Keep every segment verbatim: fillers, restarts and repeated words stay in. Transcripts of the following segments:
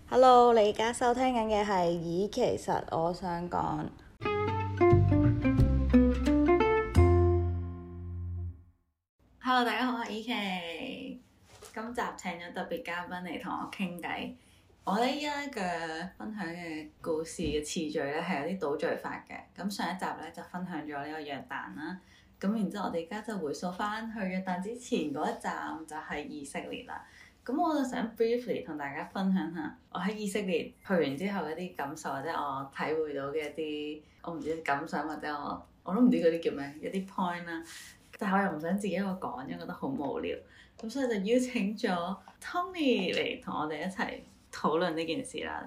Hello，你而家收聽緊嘅係咦，其實我想講。Hello，大家好，我係依琪。今集請咗特別嘉賓嚟同我傾偈。我呢依家嘅分享嘅故事嘅次序咧係有啲倒序法嘅。咁上一集咧就分享咗呢個約旦啦。咁然之後我哋而家就回溯翻去約旦之前嗰一站就係以色列啦。咁我就想 briefly 同大家分享下我喺以色列去完之後一啲感受，或者我體會到嘅一啲我唔知感想，或者我我都唔知嗰啲叫咩一啲 point 啦。但係我又唔想自己一個講，因為覺得好無聊。咁所以就邀請咗 Tony 嚟同我哋一齊討論呢件事啦。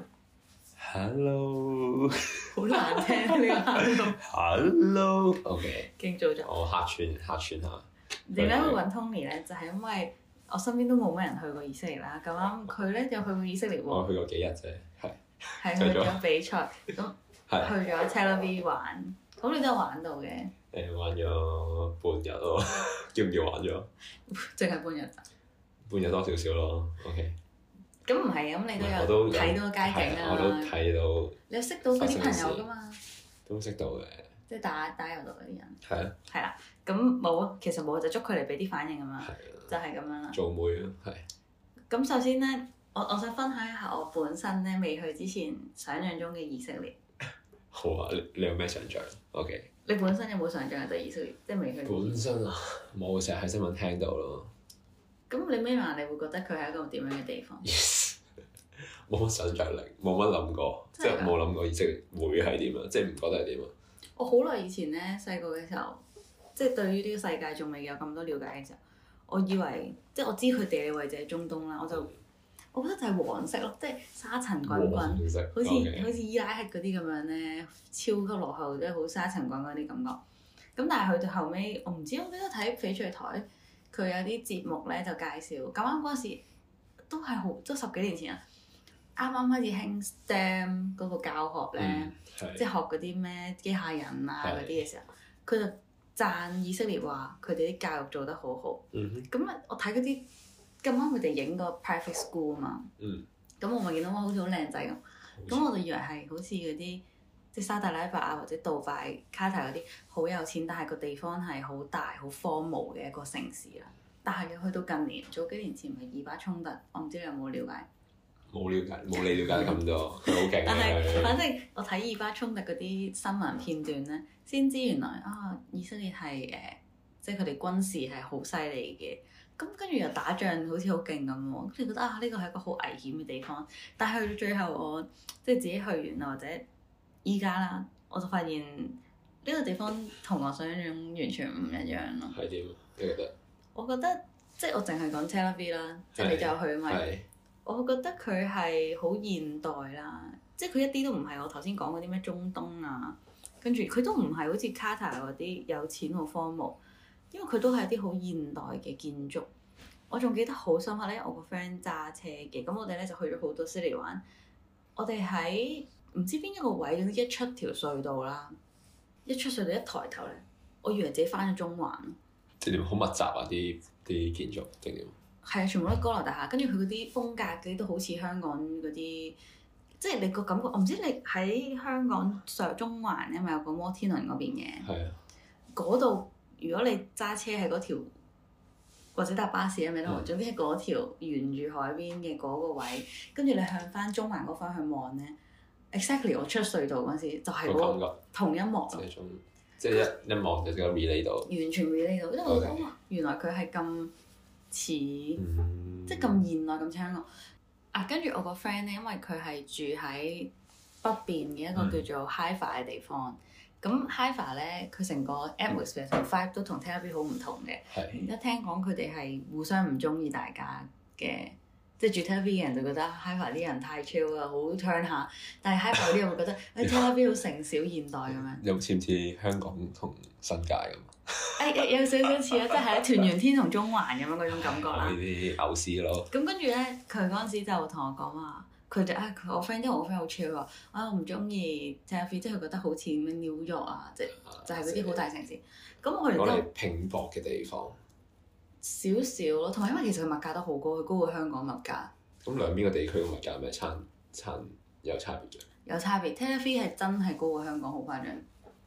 Hello， 好難聽呢個 Hello，OK， 勁早咗。 我客串客串下。 點解會揾 Tony 咧？就係、是、因為我身邊都冇乜人去過以色列啦。咁啱佢咧有去過以色列喎。 我去過幾日啫，係。 係去咗比賽，咁去咗 Tel Aviv 玩。咁你都有玩到嘅。 誒，玩咗半日咯，叫唔叫玩咗？ 淨係半日咋？ 半日多少少咯 ，OK。 咁唔係咁，你都有睇到街景啊！ 我都睇到。 你有識到嗰啲朋友噶嘛？ 都識到嘅。即係打打遊度嗰啲人。 係啊。係啦，咁冇，其實冇就捉佢嚟俾啲反應咁嘛，就係咁樣啦。 做妹咯，係。 咁首先咧，我我想分享一下我本身咧未去之前想像中嘅以色列。 好啊，你你有咩想像 ？OK。 你本身有冇想像對以色列？即係未去。 本身啊，冇，成日喺新聞聽到咯。 咁你咩話？你會覺得佢係一個點樣嘅地方？ Yes，冇乜想像力，冇乜諗過，即係冇諗過以色列會係點啊！即係唔覺得係點啊！ 我好耐以前咧，細個嘅時候，即係對於呢個世界仲未有咁多了解嘅時候，我以為即係我知佢地理位置係中東啦，我就我覺得就係黃色咯，即係沙塵滾滾，好似 Okay. 好似伊拉克嗰啲咁樣咧，超級落後，即係好沙塵滾滾啲感覺。咁但係去到後尾，我唔知我記得睇翡翠台，佢有啲節目咧就介紹，咁啱嗰時都係好都十幾年前啊，啱啱開始興 STEM 嗰個教學咧， 嗯、 即係學嗰啲咩機械人啊嗰啲嘅時候，佢就讚以色列話佢哋啲教育做得好好。咁啊、嗯，我睇嗰啲咁啱佢哋影個 private school 啊嘛，咁、嗯、我咪見到哇，好似好靚仔咁，咁像我就以為係好似嗰啲即係沙特阿拉伯啊或者杜拜、卡塔嗰啲好有錢，但係個地方係好大、好荒蕪嘅一個城市啦。但係去到近年，早幾年前咪以巴衝突，我唔知你有冇了解？ 冇了解，冇你了解得咁多，佢好勁。 但係反正我睇以巴衝突嗰啲新聞片段咧，先知原來啊以色列係誒、呃，即係佢哋軍事係好犀利嘅。咁跟住又打仗好似好勁咁喎，跟住覺得啊呢個係一個好危險嘅地方。但係去到最後我即係自己去完啦，或者依家啦，我就發現呢個地方同我想象中完全唔一樣咯。 係點？你覺得？ 我覺得即係我淨係講 Tel Aviv 啦，即係你就去嘛。我覺得佢係好現代啦，即係佢一啲都唔係我頭先講嗰啲咩中東啊，跟住佢都唔係好似卡塔嗰啲有錢好荒蕪，因為佢都係啲好現代嘅建築。我仲記得好深刻咧，我個 friend 揸車嘅，咁我哋咧就去咗好多 city 玩。我哋喺唔知邊一個位，總之一出條隧道啦，一出隧道一抬頭咧，我以為自己翻咗中環咯。 即係點？好密集啊！啲啲建築定點？ 係啊，全部都係高樓大廈，跟住佢嗰啲風格嗰啲都好似香港嗰啲，即係你個感覺。我唔知你喺香港上中環咧，咪有個摩天輪嗰邊嘅？係啊。嗰度如果你揸車喺嗰條，或者搭巴士啊咩都好，總之係嗰條沿住海邊嘅嗰個位，跟住你向翻中環嗰方向望咧 ，exactly 我出隧道嗰時就係嗰個同一幕咯。 即係一一望就即刻 relate 到。完全 relate 到，因為我覺得哇，原來佢係咁。似、嗯、即係咁現代咁似香港啊！跟住我個 friend 咧，因為佢係住喺北邊嘅一個叫做 Haifa 嘅地方。咁、嗯、Haifa 咧，佢成個 atmosphere 同 vibe 都同 Tel Aviv 好唔同嘅。一的聽講佢哋係互相唔中意大家嘅，即係住 Tel Aviv 嘅人就覺得 Haifa 啲人太 chill 啦，好 turn 下。但係 Haifa 啲人會覺得誒 Tel Aviv 好城小現代咁樣。 有似唔似香港同新界咁？ 誒、哎、有少少似啊，即係喺屯元天同中環咁樣嗰種感覺啦。呢啲牛屎咯。咁跟住咧，佢嗰陣時就同我講話，佢就啊，佢我 friend，因為我 friend 好 chill 喎，啊我唔中意 Tel Aviv，即係佢覺得好似咩 New York 啊，即係就係嗰啲好大城市。咁我哋都拼搏嘅地方。 少少咯，同埋因為其實佢物價都好高，佢高過香港物價。 咁兩邊個地區嘅物價係咪差差有差別嘅。 有差別 Taylor Fee 係真係高過香港，好誇張。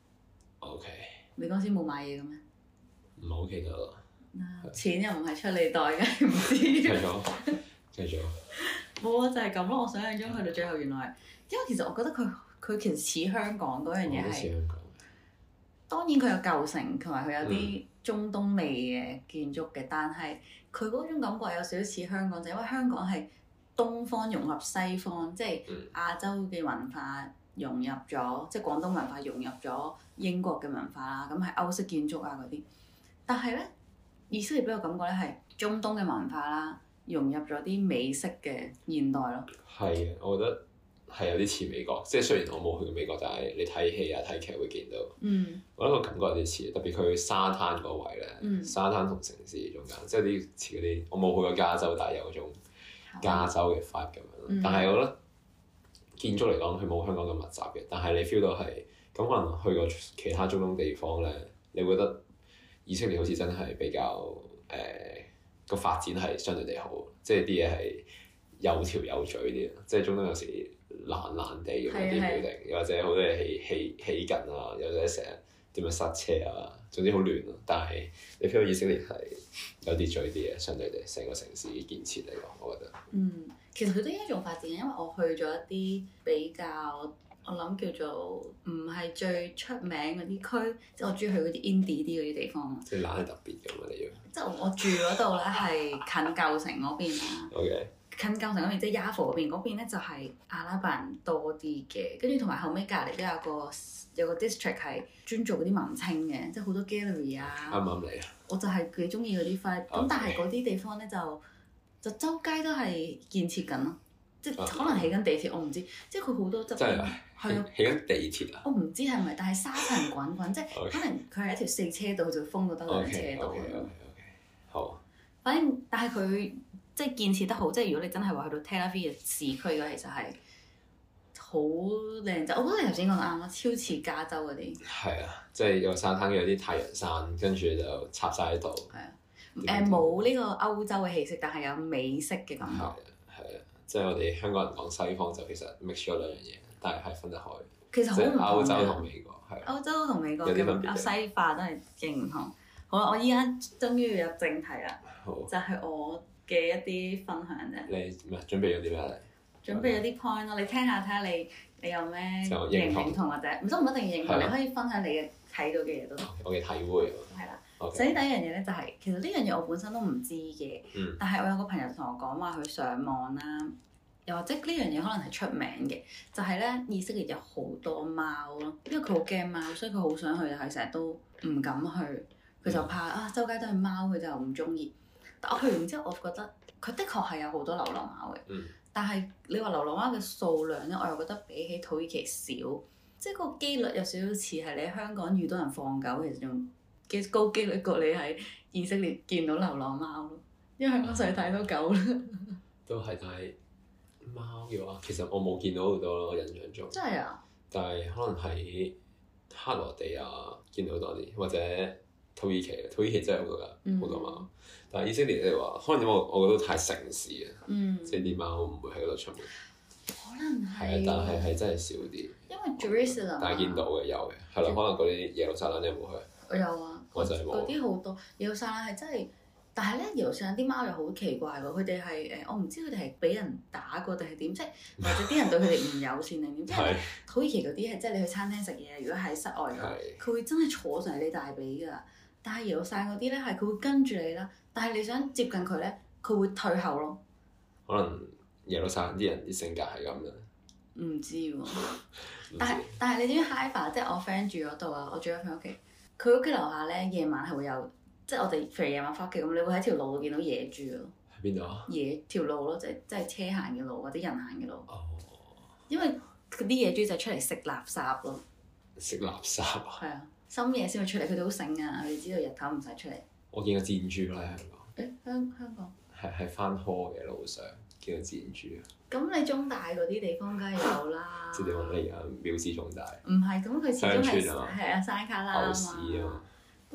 O K。 你嗰時冇買嘢嘅咩？ 唔係好記得啦。 錢又唔係出你袋嘅，唔知。 繼續，繼續。 冇啊，就係咁咯。我想象中去到最後，原來因為其實我覺得佢佢其實似香港嗰樣嘢係。 似香港。 當然佢有舊城，同埋佢有啲中東味嘅建築嘅，嗯、但係佢嗰種感覺有少少似香港，就因為香港係東方融合西方，即係亞洲嘅文化融入咗，即係廣東文化融入咗英國嘅文化啦。咁係歐式建築啊嗰啲，但係咧以色列俾我感覺咧係中東嘅文化啦，融入咗啲美式嘅現代咯。 係啊，我覺得。係有啲似美國，即係雖然我冇去過美國，但係你睇戲啊、睇劇會見到。嗯。我覺得個感覺有啲似，特別佢去沙灘嗰位咧，嗯、沙灘同城市中間，即係啲似嗰啲。我冇去過加州，但係有嗰種加州嘅 vibe 咁樣。嗯、但係我覺得建築嚟講，佢冇香港咁密集嘅，但係你 feel 到係咁，可能去過其他中東地方咧，你會覺得以色列好似真係比較誒個、呃、發展係相對地好，即係啲嘢係有條有序啲，即係中東有時。爛爛地咁啲 building，又或者好多嘢起起起緊啊，又或者成日點樣塞車啊，總之好亂咯。但係你 feel 到以色列係有秩序啲嘅，相對地成個城市建設嚟講，我覺得。 嗯，其實佢都應該仲發展嘅，因為我去咗一啲比較，我諗叫做唔係最出名嗰啲區，即係我中意去嗰啲 indie 啲嗰啲地方。 即係懶係特別咁啊！你要。即係我住嗰度咧係近舊城嗰邊啦。 OK。 近舊城嗰邊，即係 Yaffo 嗰邊，嗰邊咧就係阿拉伯人多啲嘅，跟住同埋後尾隔離都有個有個 district 係專做嗰啲文青嘅，即係好多 gallery 啊。 啱唔啱你啊？ 我就係幾中意嗰啲 vibe，咁但係嗰啲地方咧就就周街都係建設緊咯，即係可能起緊地鐵，我唔知，即係佢好多側邊係啊， 起緊地鐵啊！ 我唔知係咪，但係沙塵滾滾，即係可能佢係一條四車道，就封到得兩車道。 OK OK OK，好。 反正但係佢。即係建設得好，即係如果你真係話去到 Tel Aviv 嘅市區嘅，其實係好靚仔。我覺得你頭先講得啱啦，超似加州嗰啲。係啊，即係有沙灘，有啲太陽山，跟住就插晒喺度。 係啊，誒冇呢個歐洲嘅氣息，但係有美式嘅感覺。係啊， 係啊，即係我哋香港人講西方就其實 mix 咗兩樣嘢，但係係分得開。 其實好唔同嘅。 歐洲同美國係。 歐洲同美國嘅西化真係勁唔同。好啦，我依家終於要入正題啦，好就係我嘅一啲分享啫。 你唔係準備咗啲咩嚟？ 準備咗啲 point 咯，你聽下睇下你你有咩認唔認同或者唔都唔一定認同，你可以分享你嘅睇到嘅嘢都得。 我嘅體會。 係啦。首先第一樣嘢咧就係，其實呢樣嘢我本身都唔知嘅，但係我有個朋友同我講話佢上網啦，又或者呢樣嘢可能係出名嘅，就係咧以色列有好多貓咯，因為佢好驚貓，所以佢好想去，但係成日都唔敢去，佢就怕啊周街都係貓，佢就唔中意。但我去完之後，我覺得佢的確係有好多流浪貓嘅，嗯、但係你話流浪貓嘅數量咧，我又覺得比起土耳其少，即係個機率有少少似係你喺香港遇到人放狗，其實仲幾高機率過你喺以色列見到流浪貓咯，因為香港實在睇到狗啦。 都係，但係貓嘅話，其實我冇見到好多咯，我印象中。真係啊！但係可能喺克羅地亞見到多啲，或者土耳其，土耳其真係好多㗎，好、嗯、多貓。但係以色列你話，可能因為我我覺得太城市啊，嗯、即係啲貓唔會喺嗰度出沒。 可能係。 係啊，但係係真係少啲。 因為 Jerusalem。但係見到嘅有嘅，係咯，可能嗰啲耶路撒冷你有冇去？我有啊。我就係冇。嗰啲好多耶路撒冷係真係，但係咧耶路撒冷啲貓又好奇怪喎，佢哋係誒我唔知佢哋係俾人打過定係點，即係或者啲人對佢哋唔友善定點，即係土耳其嗰啲係即係你去餐廳食嘢，如果喺室外嘅，佢會真係坐上你大髀㗎。但係耶路撒冷嗰啲咧係佢會跟住你啦，但係你想接近佢咧，佢會退後咯。可能耶路撒冷啲人啲性格係咁嘅。 唔知喎，但係但係你知唔知 Haifa 即係我 friend 住嗰度啊？我住喺佢屋企，佢屋企樓下咧夜晚係會有，即係我哋譬如夜晚翻屋企咁，你會喺條路度見到野豬咯。 喺邊度啊？ 野條路咯，即係即係車行嘅路或者人行嘅路。哦。因為嗰啲野豬就出嚟食垃圾咯。 食垃圾啊？ 係啊。深夜先會出嚟，佢哋好醒啊！佢哋知道日頭唔使出嚟。 我見過箭豬啦喺香港。 誒香香港。係係翻科嘅路上見到箭豬啊！ 咁你中大嗰啲地方梗係有啦。 即係點講？你而家藐視中大。 唔係，咁佢始終係係啊山卡拉啊嘛。 牛屎啊！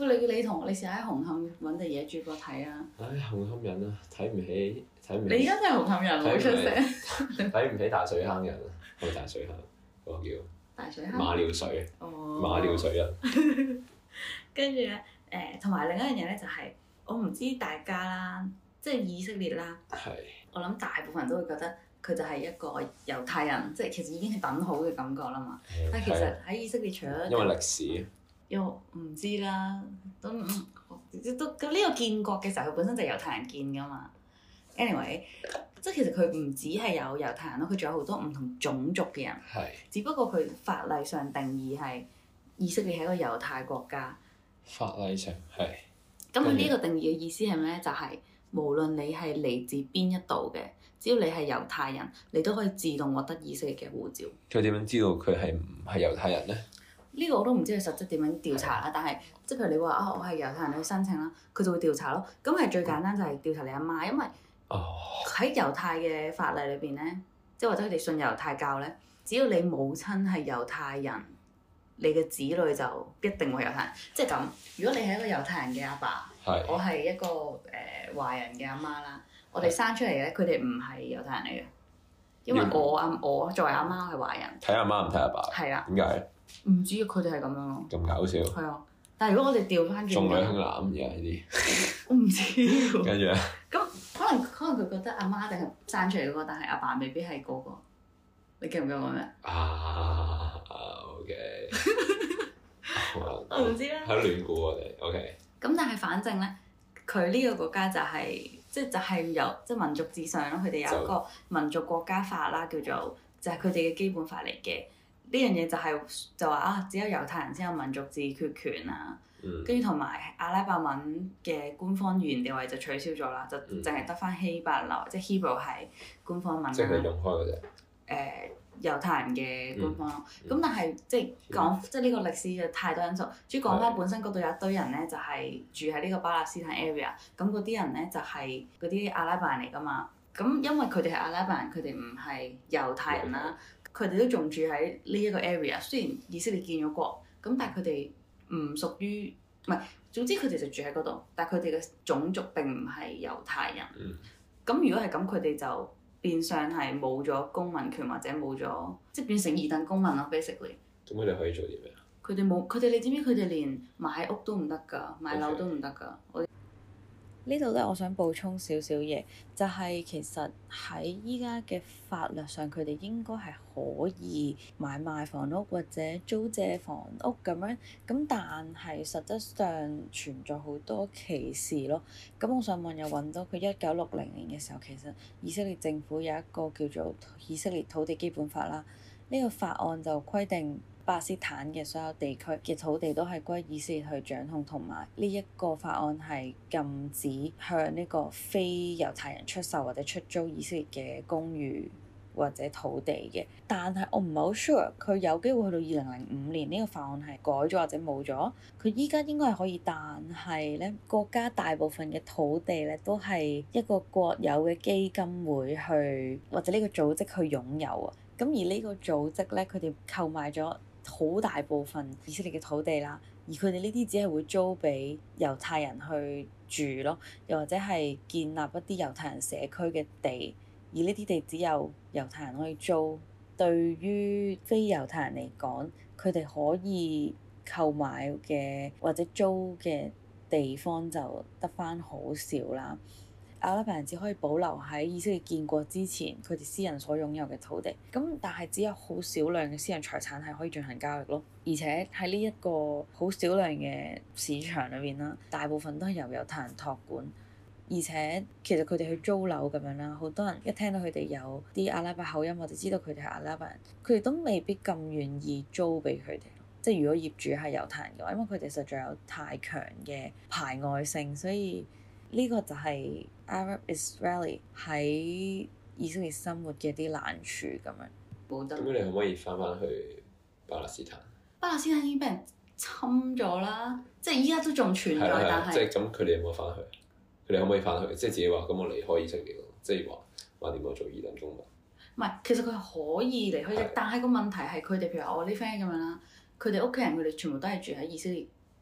喂，你你同你試下喺紅磡揾地野豬過睇啊！ 唉，紅磡人啊，睇唔起，睇唔起。 你而家真係紅磡人，好出聲。 睇唔起大水坑人啊！係咪大水坑？嗰、那個叫大水坑。 馬料水。哦。馬料水人。 跟住咧，誒，同埋另一樣嘢咧，就係我唔知大家啦，即係以色列啦。係。我諗大部分人都會覺得佢就係一個猶太人，即係其實已經係等好嘅感覺啦嘛。但係其實喺以色列除咗因為歷史。又唔知啦，都都咁呢個建國嘅時候，佢本身就係猶太人建㗎嘛。anyway，即係其實佢唔止係有猶太人咯，佢仲有好多唔同種族嘅人。係。只不過佢法例上定義係以色列係一個猶太國家。 法例上係。 咁佢呢個定義嘅意思係咩咧？就係、是、無論你係嚟自邊一度嘅，只要你係猶太人，你都可以自動獲得以色列嘅護照。 佢點樣知道佢係唔係猶太人咧？ 呢個我都唔知佢實質點樣調查啦，但係即係譬如你話啊，我係猶太人，你去申請啦，佢就會調查咯。咁係最簡單就係調查你阿媽，因為喺猶太嘅法例裏邊咧，即係或者佢哋信猶太教咧，只要你母親係猶太人，你嘅子女就一定會猶太人。即係咁，如果你係一個猶太人嘅阿爸，是我係一個誒、呃、華人嘅阿媽啦，我哋生出嚟咧，佢哋唔係猶太人嚟嘅，因為我阿我作為阿媽係華人。 睇阿媽唔睇阿爸。係啊。 點解？ 唔知佢哋係咁樣咯。咁搞笑。 係啊，但係如果我哋調翻轉，重女輕男而家呢啲。我唔知喎。跟住咧。咁可能可能佢覺得阿媽定係生出嚟嗰個，但係阿爸未必係嗰個。你記唔記得我咩？啊，OK。我唔知啦。喺度亂估我哋，OK。咁但係反正咧，佢呢個國家就係即係就係有即係民族至上咯。佢哋有一個民族國家法啦，叫做就係佢哋嘅基本法嚟嘅。呢樣嘢就係、是、就話啊，只有猶太人先有民族自決權啊，跟住同埋阿拉伯文嘅官方語言地位就取消咗啦，就淨係得翻希伯來，即係 Hebrew 係官方文啦。即係用開嗰隻。誒、呃，猶太人嘅官方咯。咁、嗯嗯、但係即係講即係呢個歷史嘅太多因素。主要講翻本身嗰度有一堆人咧，就係、是、住喺呢個巴勒斯坦 area。咁嗰啲人咧就係嗰啲阿拉伯人嚟㗎嘛。咁因為佢哋係阿拉伯人，佢哋唔係猶太人啦。佢哋都仲住喺呢一個 area，雖然以色列建咗國，咁但係佢哋唔屬於，唔係，總之佢哋就住喺嗰度，但係佢哋嘅種族並唔係猶太人。咁、嗯、如果係咁，佢哋就變相係冇咗公民權或者冇咗，即係變成二等公民咯。Basically。咁佢哋可以做啲咩啊？佢哋冇，佢哋你知唔知佢哋連買屋都唔得㗎，買樓都唔得㗎。我呢度咧，我想補充少少嘢，就係、是、其實喺依家嘅法律上，佢哋應該係可以買賣房屋或者租借房屋咁樣，咁但係實質上存在好多歧視咯。咁我上網又揾到佢一九六零年嘅時候，其實以色列政府有一個叫做以色列土地基本法啦，呢、這個法案就規定，巴勒斯坦嘅所有地區嘅土地都係歸以色列去掌控，同埋呢一個法案係禁止向呢個非猶太人出售或者出租以色列嘅公寓或者土地嘅。但係我唔係好 sure 佢有機會去到二零零五年呢個法案係改咗或者冇咗。佢依家應該係可以，但係咧國家大部分嘅土地咧都係一個國有嘅基金會去或者呢個組織去擁有啊。咁而呢個組織咧，佢哋購買咗好大部分以色列嘅土地啦，而佢哋呢啲只係會租俾猶太人去住咯，又或者係建立一啲猶太人社區嘅地，而呢啲地只有猶太人可以租。對於非猶太人嚟講，佢哋可以購買嘅或者租嘅地方就得返好少啦。阿拉伯人只可以保留喺以色列建國之前佢哋私人所擁有嘅土地，咁但係只有好少量嘅私人財產係可以進行交易咯，而且喺呢一個好少量嘅市場裏邊啦，大部分都係由猶太人託管，而且其實佢哋去租樓咁樣啦，好多人一聽到佢哋有啲阿拉伯口音，我就知道佢哋係阿拉伯人，佢哋都未必咁願意租俾佢哋，即係如果業主係猶太人嘅話，因為佢哋實在有太強嘅排外性，所以呢個就係 Arab Israeli 喺以色列生活嘅啲難處咁樣。冇得。咁你可唔可以翻返去巴勒斯坦？巴勒斯坦已經俾人侵咗啦，即係依家都仲存在，但係即係咁，佢哋有冇翻去？佢哋可唔可以翻去？即係自己話咁，我離開以色列咯，即係話話點樣做二等公民？唔係，其實佢可以離開，的但係個問題係佢哋，譬如我啲 friend 咁樣啦，佢哋屋企人佢哋全部都係住喺以色列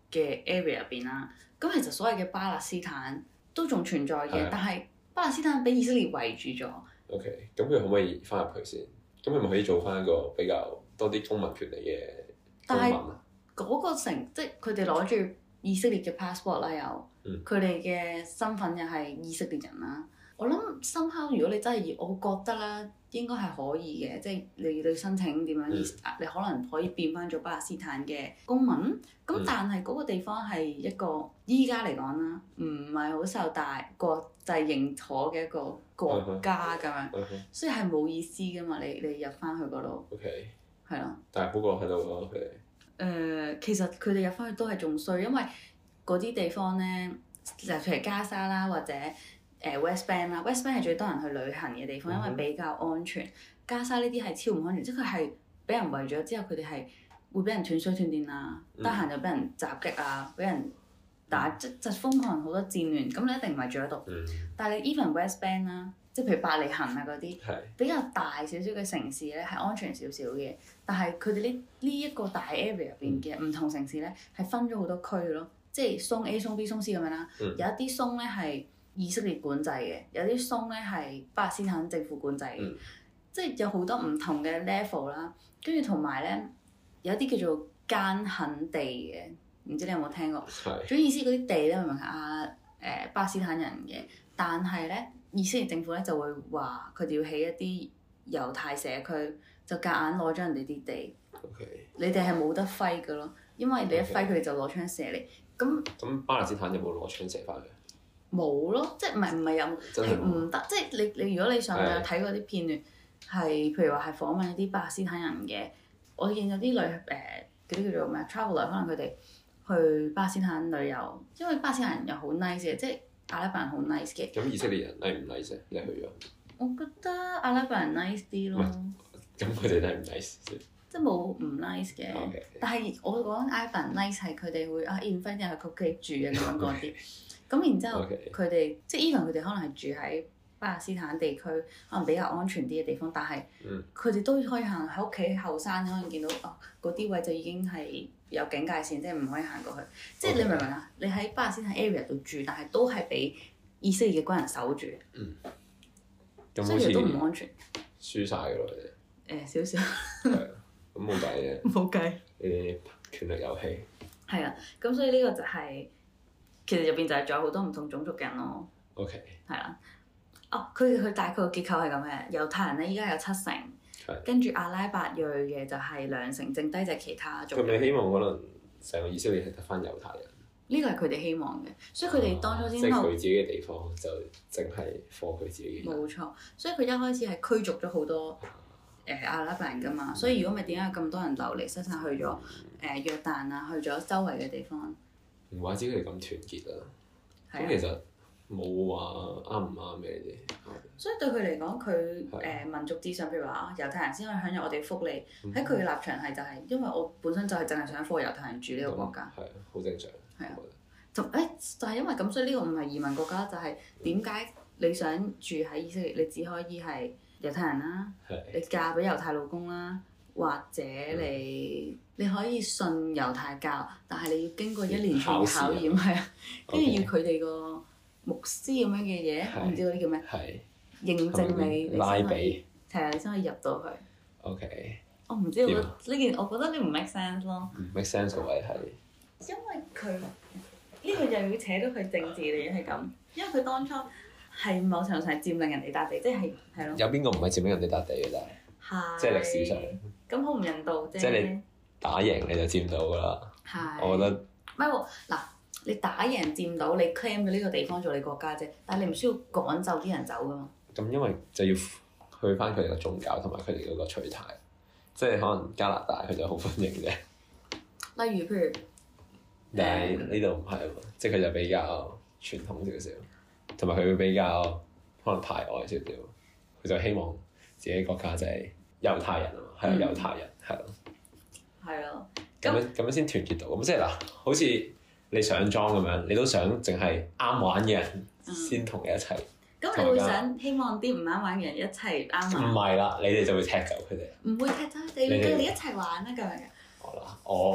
嘅 area 入邊啦。咁其實所謂嘅巴勒斯坦都仲存在嘅，的但係巴勒斯坦俾以色列圍住咗。 OK，咁佢可唔可以翻入去先？咁佢咪可以做翻一個比較多啲公民權利嘅公民啊？ 但係嗰個城，即係佢哋攞住以色列嘅 passport 啦，又佢哋嘅身份又係以色列人啦。我諗深刻，如果你真係要，我覺得啦，應該係可以嘅，即係你你申請點樣，嗯、你可能可以變翻做巴勒斯坦嘅公民。咁、嗯、但係嗰個地方係一個依家嚟講啦，唔係好受大國際認可嘅一個國家咁樣，嗯嗯、所以係冇意思噶嘛。你你入翻去嗰度，OK，係咯。但係不過喺度咯，佢哋。誒，其實佢哋入翻去都係仲衰，因為嗰啲地方咧，就譬如加沙啦，或者。誒、uh, West Bank 啦 ，West Bank 係最多人去旅行嘅地方，因為比較安全。嗯、加沙呢啲係超唔安全，即係佢係俾人圍咗之後，佢哋係會俾人斷水斷電啊，得閒、嗯、就俾人襲擊啊，俾人打，即即瘋狂好多戰亂。咁你一定唔係住喺度。嗯、但係你 even West Bank 啦，即係譬如伯利恆啊嗰啲，是比較大少少嘅城市咧係安全少少嘅。但係佢哋呢呢一個大 area 入邊嘅唔同城市咧係分咗好多區咯，即係松 A、松 B、松 C 咁樣啦。嗯、有一啲松咧係以色列管制嘅，有啲松咧係巴勒斯坦政府管制嘅，嗯、即係有好多唔同嘅 level 啦。跟住同埋咧，有啲叫做艱墾地嘅，唔知你有冇聽過？係是。總意思嗰啲地咧，明明係啊誒巴勒斯坦人嘅，但係咧以色列政府咧就會話佢哋要起一啲猶太社區，就夾硬攞咗人哋啲地。OK。你哋係冇得揮㗎咯，因為你一揮佢哋就攞槍射你。咁咁巴勒斯坦有冇攞槍射翻佢？冇咯，即係唔係唔係有係唔得，即係你你如果你上網有睇過啲片段，係譬如話係訪問一啲巴勒斯坦人嘅，我見有啲旅誒嗰啲叫做咩 traveler， 可能佢哋去巴勒斯坦旅遊，因為巴勒斯坦人又好 nice 嘅，即係阿拉伯人好 nice 嘅。咁以色列人 nice 唔 nice 你去咗？我覺得阿拉伯人 nice 啲咯。咁佢哋 nice 唔 nice 即係冇唔 nice 嘅，okay. 但係我講阿拉伯人 nice 係佢哋會啊 invite 人去佢屋企住啊咁樣嗰啲。咁然之後，佢哋 Okay. 即係 even 佢哋可能係住喺巴勒斯坦地區，可能比較安全啲嘅地方，但係佢哋都可以行喺屋企後山，可能見到哦嗰啲位就已經係有警戒線，即係唔可以行過去。即係 Okay. 你明唔明啊？你喺巴勒斯坦 area 度住，但係都係俾以色列嘅軍人守住，嗯、所以都唔安全。輸晒㗎咯，你哋。誒少少。係啊，咁冇計嘅。冇計。呢啲權力遊戲。係啊，咁所以呢個就係、是。其實入邊就係仲有好多唔同種族嘅人咯。OK。係啦。哦，佢佢大概個結構係咁嘅，猶太人咧依家有七成，的跟住阿拉伯裔嘅就係兩成，剩低就係其他種。佢哋希望可能成個以色列係得翻猶太人。呢個係佢哋希望嘅，所以佢哋當初先。即係佢自己嘅地方就淨係放佢自己嘅。冇錯，所以佢一開始係驅逐咗好多誒、呃、阿拉伯人㗎嘛，所以如果咪點解咁多人流離失所去咗誒、呃、約旦啊，去咗周圍嘅地方？唔怪之佢哋咁團結啊！咁其實冇話啱唔啱嘅呢啲。所以對佢嚟講，佢誒、呃、民族至上，譬如話啊，猶太人先可以享有我哋福利。喺佢嘅立場係就係、是，因為我本身就係淨係想幫猶太人住呢個國家。係啊、嗯，好正常。係啊，同誒、欸、就係、是、因為咁，所以呢個唔係移民國家，就係點解你想住喺以色列，你只可以係猶太人啦，的你嫁俾猶太老公啦。或者你、嗯、你可以信猶太教，但係你要經過一連串嘅考驗，係啊，跟住要佢哋個牧師咁樣嘅嘢，是我唔知嗰啲叫咩，是認證你，你先可以，係啊，你先可以入到去。OK。我唔知我呢件，我覺得呢唔 make sense 咯。唔 make sense 個位係因為佢呢、呢個又要扯到佢政治嚟嘅係咁，因為佢當初係某程度上係佔領人哋笪地，即係係咯。有邊個唔係佔領人哋笪地嘅？但係即係歷史上。咁好唔人道啫！即係你打贏你就佔到㗎啦。係。我覺得。唔係喎，嗱，你打贏佔到，你 claim 咗呢個地方做你國家啫，但係你唔需要趕走啲人走㗎嘛。咁因為就要去翻佢哋個宗教同埋佢哋嗰個取態，即係可能加拿大佢就好歡迎啫。例如譬如，但係呢度唔係喎，即係佢就比較傳統少少，同埋佢會比較可能排外少少，佢就希望自己國家就係猶太人啊嘛。係啊，猶太人係咯，係咯，咁樣咁樣先團結到，咁即係嗱，好似你上莊咁樣，你都想淨係啱玩嘅人先同你一齊。咁、嗯、你會想希望啲唔啱玩嘅人一齊啱玩？唔係啦，你哋就會踢走佢哋。唔會踢走佢哋，你哋一齊玩啊咁樣嘅。好啦，我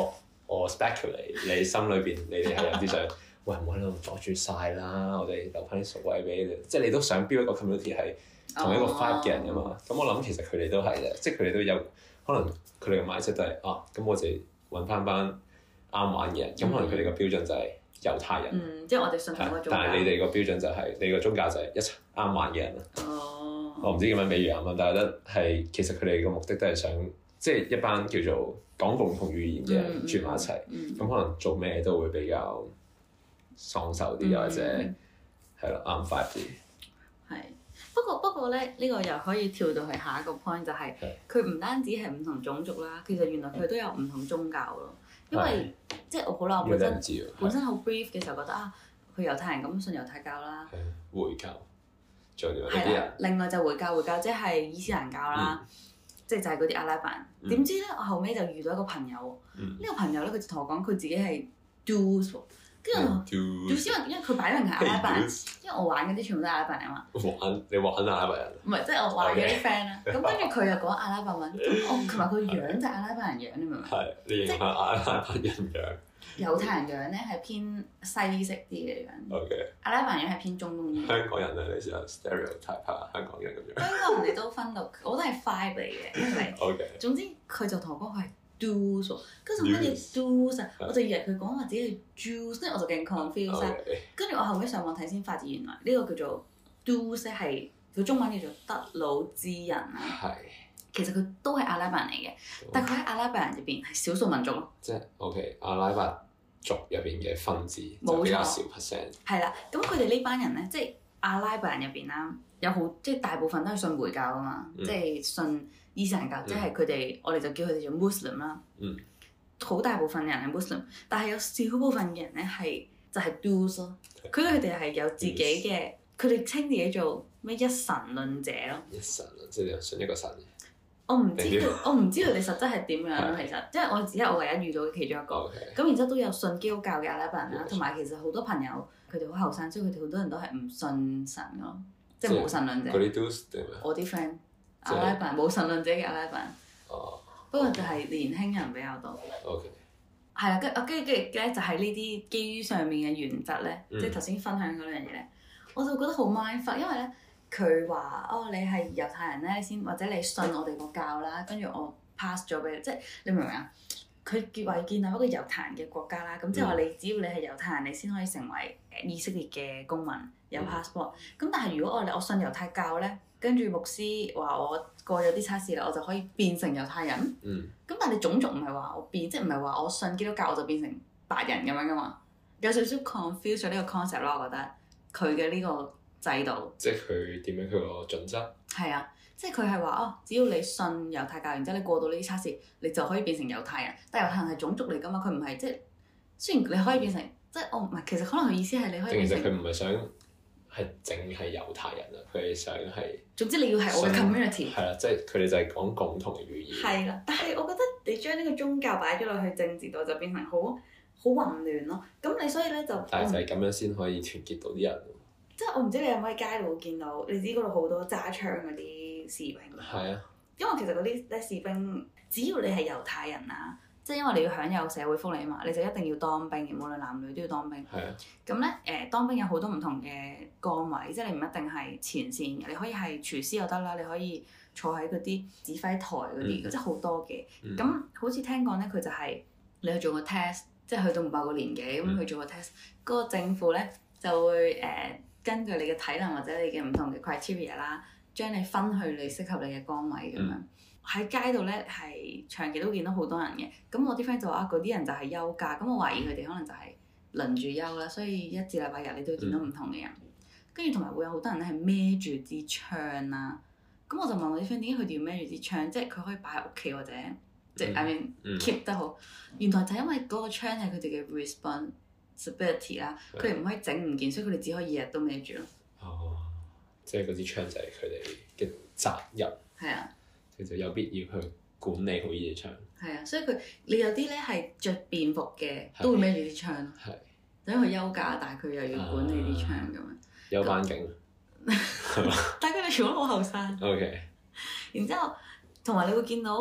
我 speculate 你心裏邊你哋係有啲想，喂唔好喺度阻住晒啦，我哋留翻啲熟位俾你，即係你都想 build 一個 community 係同一個 vibe 嘅人㗎嘛。咁、oh. 我諗其實佢哋都係嘅，即係佢哋都有可能佢哋嘅 mindset 都係啊，咁我哋揾翻班啱玩嘅人，咁、mm. 可能佢哋個標準就係猶太人。 嗯，即係我哋信同一個宗教。 但係你哋個標準就係、是、你個宗教就係一齊啱玩嘅人啦。哦。Oh. 我唔知點樣比喻啱啱，但係覺得係其實佢哋個目的都係想。即係一班叫做講共同語言嘅人住埋一齊，咁、嗯嗯、可能做咩都會比較爽手啲，嗯、或者係咯啱 five 啲。係， 不過不過咧，呢、呢個又可以跳到去下一個 point，就係佢唔單止係唔同種族啦，其實原來佢都有唔同宗教咯。因為的即係我好啦，我本身本身好 brief 嘅時候覺得啊，佢猶太人咁信猶太教啦， 回教，仲有啲人。另外就回教，回教即係伊斯蘭教啦。嗯即係就係嗰啲阿拉伯人，點、嗯、知咧我後尾就遇到一個朋友，呢、嗯、個朋友咧佢就同我講佢自己係 Druze 喎，跟住我 Druze 因為因為佢擺明係阿拉伯人，因為我玩嗰啲全部都係阿拉伯人啊嘛。 玩你玩阿拉伯人？唔係，即係我玩嗰啲 friend 啦。咁跟住佢又講阿拉伯文，我同埋佢樣就係阿拉伯人樣，你明唔明？係， 你認係阿拉伯人樣。 猶太人樣咧係偏西式啲嘅樣，Okay. 阿拉伯人樣係偏中東啲。 香港人咧，你試下 stereotype 下香港人咁樣。 香港人哋都分到，我都係 five 嚟嘅，因為 Okay. 總之佢就同我講佢係 Druze，跟住乜嘢 Druze，我就以為佢講話自己係 Jews，跟住我就勁 confused。跟住我後尾上網睇先發現原來呢個叫做 Druze 係佢中文叫做德魯茲人啊。係。其實佢都係阿拉伯人嚟嘅，但係佢喺阿拉伯人入邊係少數民族咯。 即係 OK，阿拉伯族入邊嘅分子就比較少 percent。 係啦，咁佢哋呢班人咧，即係阿拉伯人入邊啦，有好即係大部分都係信回教啊嘛，嗯、即係信伊斯蘭教，嗯、即係佢哋我哋就叫佢哋做 Muslim 啦。嗯。好大部分人係 Muslim，但係有少部分嘅人咧係就係 Druze 咯。佢哋係有自己嘅，佢哋稱自己做咩一神論者咯。 一神論即係信一個神。 我唔知道，我唔知道你實質係點樣咯。其實，即係我只係我唯一遇到嘅其中一個。咁然之後都有信基督教嘅阿拉伯人啦，同埋其實好多朋友佢哋好後生，所以佢哋好多人都係唔信神咯，即係無神論者。 嗰啲都定咩？ 我啲 friend 阿拉伯人無神論者嘅阿拉伯人。哦。不過就係年輕人比較多。OK。係啦，跟啊跟住跟住咧就係呢啲基於上面嘅原則咧，即係頭先分享嗰兩樣嘢咧，我就覺得好 mindfuck，因為咧。佢話：哦，你係猶太人咧，先或者你信我哋個教啦，跟住我 pass 咗俾你，即係你明唔明啊？佢結為建立一個猶太人嘅國家啦，咁即係話你只要你係猶太人，你先可以成為誒以色列嘅公民，有 passport。咁、嗯、但係如果我我信猶太教咧，跟住牧師話我過咗啲測試啦，我就可以變成猶太人。嗯。咁但係你種族唔係話我變，即係唔係話我信基督教我就變成白人咁樣噶嘛？有少少 confuse 咗呢個 concept 咯，我覺得佢嘅呢個。制度， 即係佢點樣佢個準則？ 係啊，即係佢係話哦，只要你信猶太教，然之後你過到呢啲測試，你就可以變成猶太人。但係猶太人係種族嚟㗎嘛，佢唔係即係雖然你可以變成，即係我唔係其實可能佢意思係你可以變成。 其實佢唔係想係淨係猶太人啊，佢係想係。 總之你要係我嘅 community。 係啦，即係佢哋就係講共同嘅語言。 係啦，但係我覺得你將呢個宗教擺咗落去政治度，就變成好好混亂咯。咁你所以咧就。 但係就係咁樣先可以團結到啲人。 即係我唔知你有冇喺街度見到，你知嗰度好多揸槍嗰啲士兵。係啊。因為其實嗰啲咧士兵，只要你係猶太人啊，即係因為你要享有社會福利嘛，你就一定要當兵嘅，無論男女都要當兵。係啊。咁咧誒，當兵有好多唔同嘅崗位，即係你唔一定係前線嘅，你可以係廚師又得啦，你可以坐喺嗰啲指揮台嗰啲，嗯、即係好多嘅。咁、嗯、好似聽講咧，佢就係你去做個 test，即係去到唔某個年紀咁去做個 test，嗰個政府咧就會誒。呃根據你嘅體能或者你嘅唔同嘅 criteria 啦，將你分去你適合你嘅崗位咁樣。喺、嗯、街度咧係長期都見到好多人嘅。咁我啲 friend 就話嗰啲人就係休假，咁我懷疑佢哋可能就係輪住休啦，所以一至禮拜日你都會見到唔同嘅人。跟住同埋會有好多人咧係孭住支槍啦。咁我就問我啲 friend 點解佢哋要孭住支槍？即係佢可以擺喺屋企或者即係 I mean keep 得好。原來就因為嗰個槍係佢哋嘅 responsibility 啦，佢哋唔可以整唔見，所以佢哋只可以日日都孭住咯。哦，即係嗰支槍就係佢哋嘅責任。係啊，其實有必要去管理好呢支槍。係啊，所以佢你有啲咧係着便服嘅，都會孭住支槍咯。係，因為佢休假，但係佢又要管理啲槍咁樣。有班警。係嘛？但係佢哋全部都好後生。O K。然之後，同埋你會見到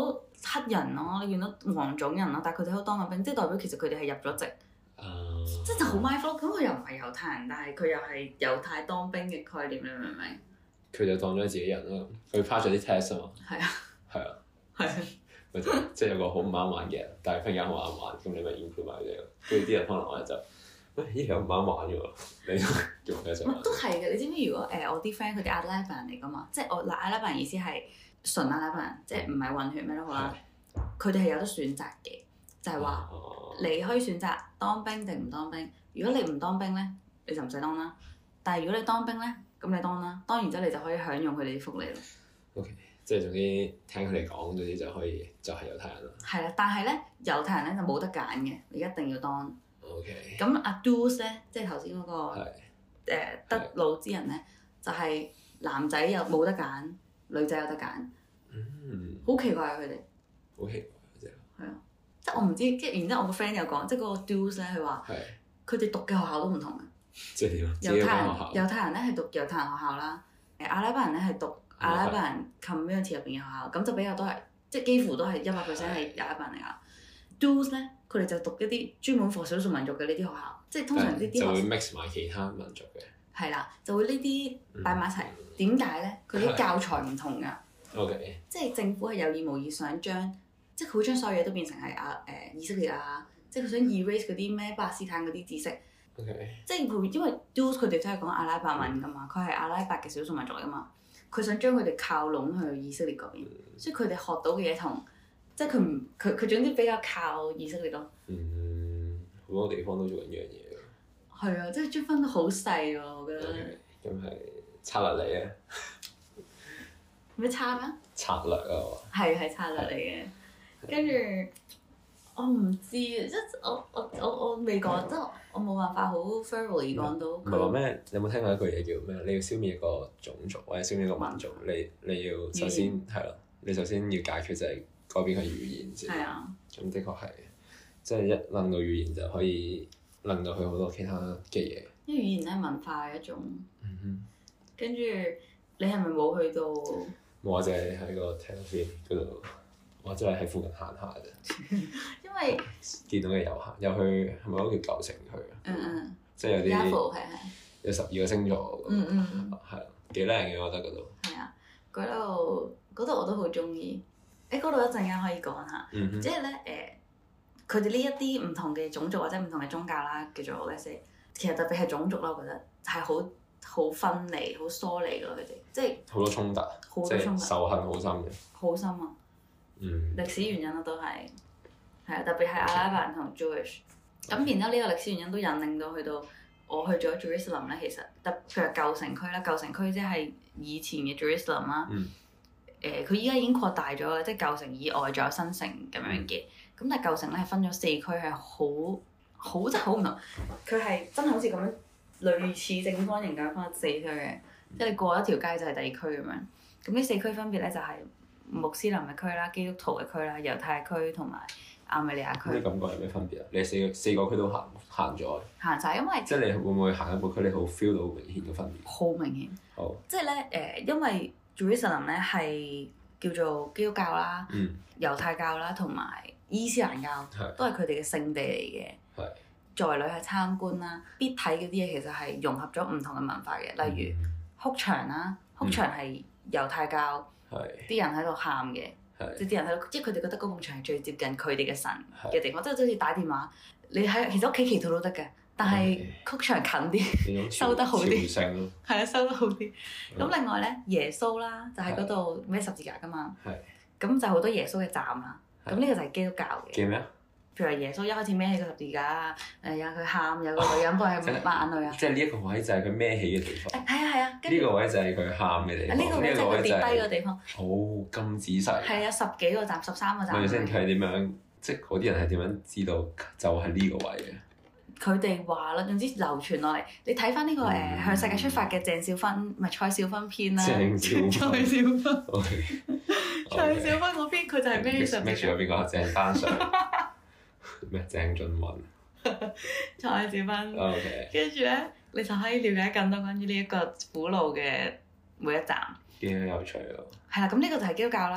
黑人咯，你見到黃種人咯，但係佢哋都當緊兵，即係代表其實佢哋係入咗籍。 Uh, 即係就好 my fault，咁佢又唔係猶太人，但係佢又係猶太當兵嘅概念，你明唔明？ 佢就當咗自己人啦，佢 pass 咗啲 test 啊嘛。係啊。係啊。係啊。咪就即係有個好唔啱玩嘅人，但係忽然間好啱玩，咁你咪 include 埋佢哋咯。跟住啲人可能我就，喂呢條唔啱玩嘅喎，你做咩就？ 都係嘅，你知唔知如果誒、呃、我啲 friend 佢哋阿拉伯人嚟㗎嘛？即係我嗱阿拉伯人意思係純阿拉伯人，即係唔係混血咩都好啦。佢哋係有得選擇嘅，就係、是、話。Uh, 你可以選擇當兵定唔當兵。如果你唔當兵咧，你就唔使當啦。但係如果你當兵咧，咁你當啦。當完之後你就可以享用佢哋啲福利咯。O K， 即係總之聽佢哋講，總之就可以就係、是、猶太人啦。 係啦，但係咧猶太人咧就冇得揀嘅，你一定要當。 O K。咁阿 Druze 咧，即係頭先嗰個誒是、 呃、德魯之人咧，就係、是、男仔又冇得揀，女仔有得揀。 嗯。 好奇怪啊！佢哋。 好奇怪嗰隻。係啊。 即係我唔知，即係然之後我個 friend 又講，即係嗰個 Druze 咧，佢話佢哋讀嘅學校都唔同嘅。 即係點啊？ 猶太人猶太人咧係讀猶太人學校啦，誒阿拉伯人咧係讀阿拉伯人 community 入邊嘅學校，咁就比較多係即係幾乎都係一百 percent 係阿拉伯人嚟㗎。Druze 咧，佢哋就讀一啲專門 for 少數民族嘅呢啲學校，即係通常呢啲就會 mix 埋其他民族嘅。 係啦，就會呢啲擺埋一齊。點解咧？佢啲教材唔同㗎。 OK。即係政府係有意無意想將。即係佢會將所有嘢都變成係啊誒以色列啊，即係佢想 erase 嗰啲咩巴勒斯坦嗰啲知識。 Okay. 即係佢因為 Druze 佢哋都係講阿拉伯文㗎嘛，佢係阿拉伯嘅少數民族嚟㗎嘛，佢想將佢哋靠攏去以色列嗰邊，嗯、所以佢哋學到嘅嘢同即係佢唔佢佢總之比較靠以色列咯。 嗯，好多地方都做緊呢樣嘢㗎。 係啊，即係將分得好細喎，我覺得。 咁係策略嚟嘅。 咩差咩？ 策略啊！ 係係策略嚟嘅。跟住我唔知，即係我我我我未講，即係我冇辦法好 thoroughly 講到。 唔係話咩？你有冇聽過一句嘢叫咩？你要消滅一個種族或者消滅一個民族，你你要首先係咯，你首先要解決就係改變佢語言先。係啊。咁的確係，即係一諗到語言就可以諗到佢好多其他嘅嘢。 因為語言咧係文化嘅一種。 嗯哼。跟住你係咪冇去到？ 冇啊！就係喺個 Tel 嗰度。或者係喺附近行下啫， 因為見到嘅遊客又去係咪嗰個叫舊城區啊？ 嗯嗯， 即係有啲係係有十二個星座， 嗯嗯， 係啊，幾靚嘅我覺得嗰度。 係啊，嗰度嗰度我都好中意。誒，嗰度一陣間可以講下，即係咧誒，佢哋呢一啲唔同嘅種族或者唔同嘅宗教啦，叫做 let's say，其實特別係種族啦，我覺得係好好分離、好疏離咯，佢哋即係好多衝突，即係仇恨好深嘅。好深啊！ 嗯， 歷史原因咯，都係係啊，特別係阿拉伯人同 Jewish。咁然之後呢個歷史原因都引領到去到我去咗 Jerusalem 咧，其實特譬如舊城區啦，舊城區即係以前嘅 Jerusalem 啦。 嗯。 誒，佢依家已經擴大咗啦，即係舊城以外仲有新城咁樣嘅。咁但係舊城咧係分咗四區，係好好即係好唔同。佢係真係好似咁樣類似正方形咁分四區嘅，即係你過一條街就係第二區咁樣。咁呢四區分別咧就係穆斯林嘅區啦、基督徒嘅區啦、猶太區同埋亞美尼亞區。 你感覺有咩分別啊？你四個四個區都行行咗。行晒，因為即係你會唔會行一個區，你好 feel 到明顯嘅分別？ 好明顯。 好。 即係咧誒，因為 Jerusalem 咧係叫做基督教啦、 嗯、 猶太教啦同埋伊斯蘭教， 是都係佢哋嘅聖地嚟嘅。 係是。作為旅客參觀啦，必睇嗰啲嘢其實係融合咗唔同嘅文化嘅，例如哭牆啦，哭牆係猶太教。啲人喺度喊嘅，即係啲人喺度，即係佢哋覺得嗰埲牆係最接近佢哋嘅神嘅地方，即係好似打電話，你喺其實屋企祈禱都得嘅，但係曲牆近啲，收得好啲，係啊，收得好啲。咁另外咧，耶穌啦，就喺嗰度孭十字架噶嘛，咁就好多耶穌嘅站啦。咁呢個就係基督教嘅。叫咩啊？譬如話耶穌一開始孭起個十字架，誒有佢喊，有個女人幫佢抹眼淚啊。即係呢一個位就係佢孭起嘅地方。係啊係啊。呢個位就係佢喊嘅地方。呢個位就係佢跌低嘅地方。好咁仔細。係啊，十幾個站，十三個站。咪先睇點樣？即係嗰啲人係點樣知道就係呢個位嘅？佢哋話啦，總之流傳落嚟。你睇翻呢個誒向世界出發嘅鄭少芬，唔係蔡少芬篇啦。鄭少芬。蔡少芬。蔡少芬嗰篇佢就係孭十字架。孭住咗邊個？鄭丹瑞。咩？鄭俊文、蔡少芬，跟住咧，你就可以了解更多關於呢一個苦路嘅每一站。幾有趣咯！係啦，咁呢個就係基督教啦。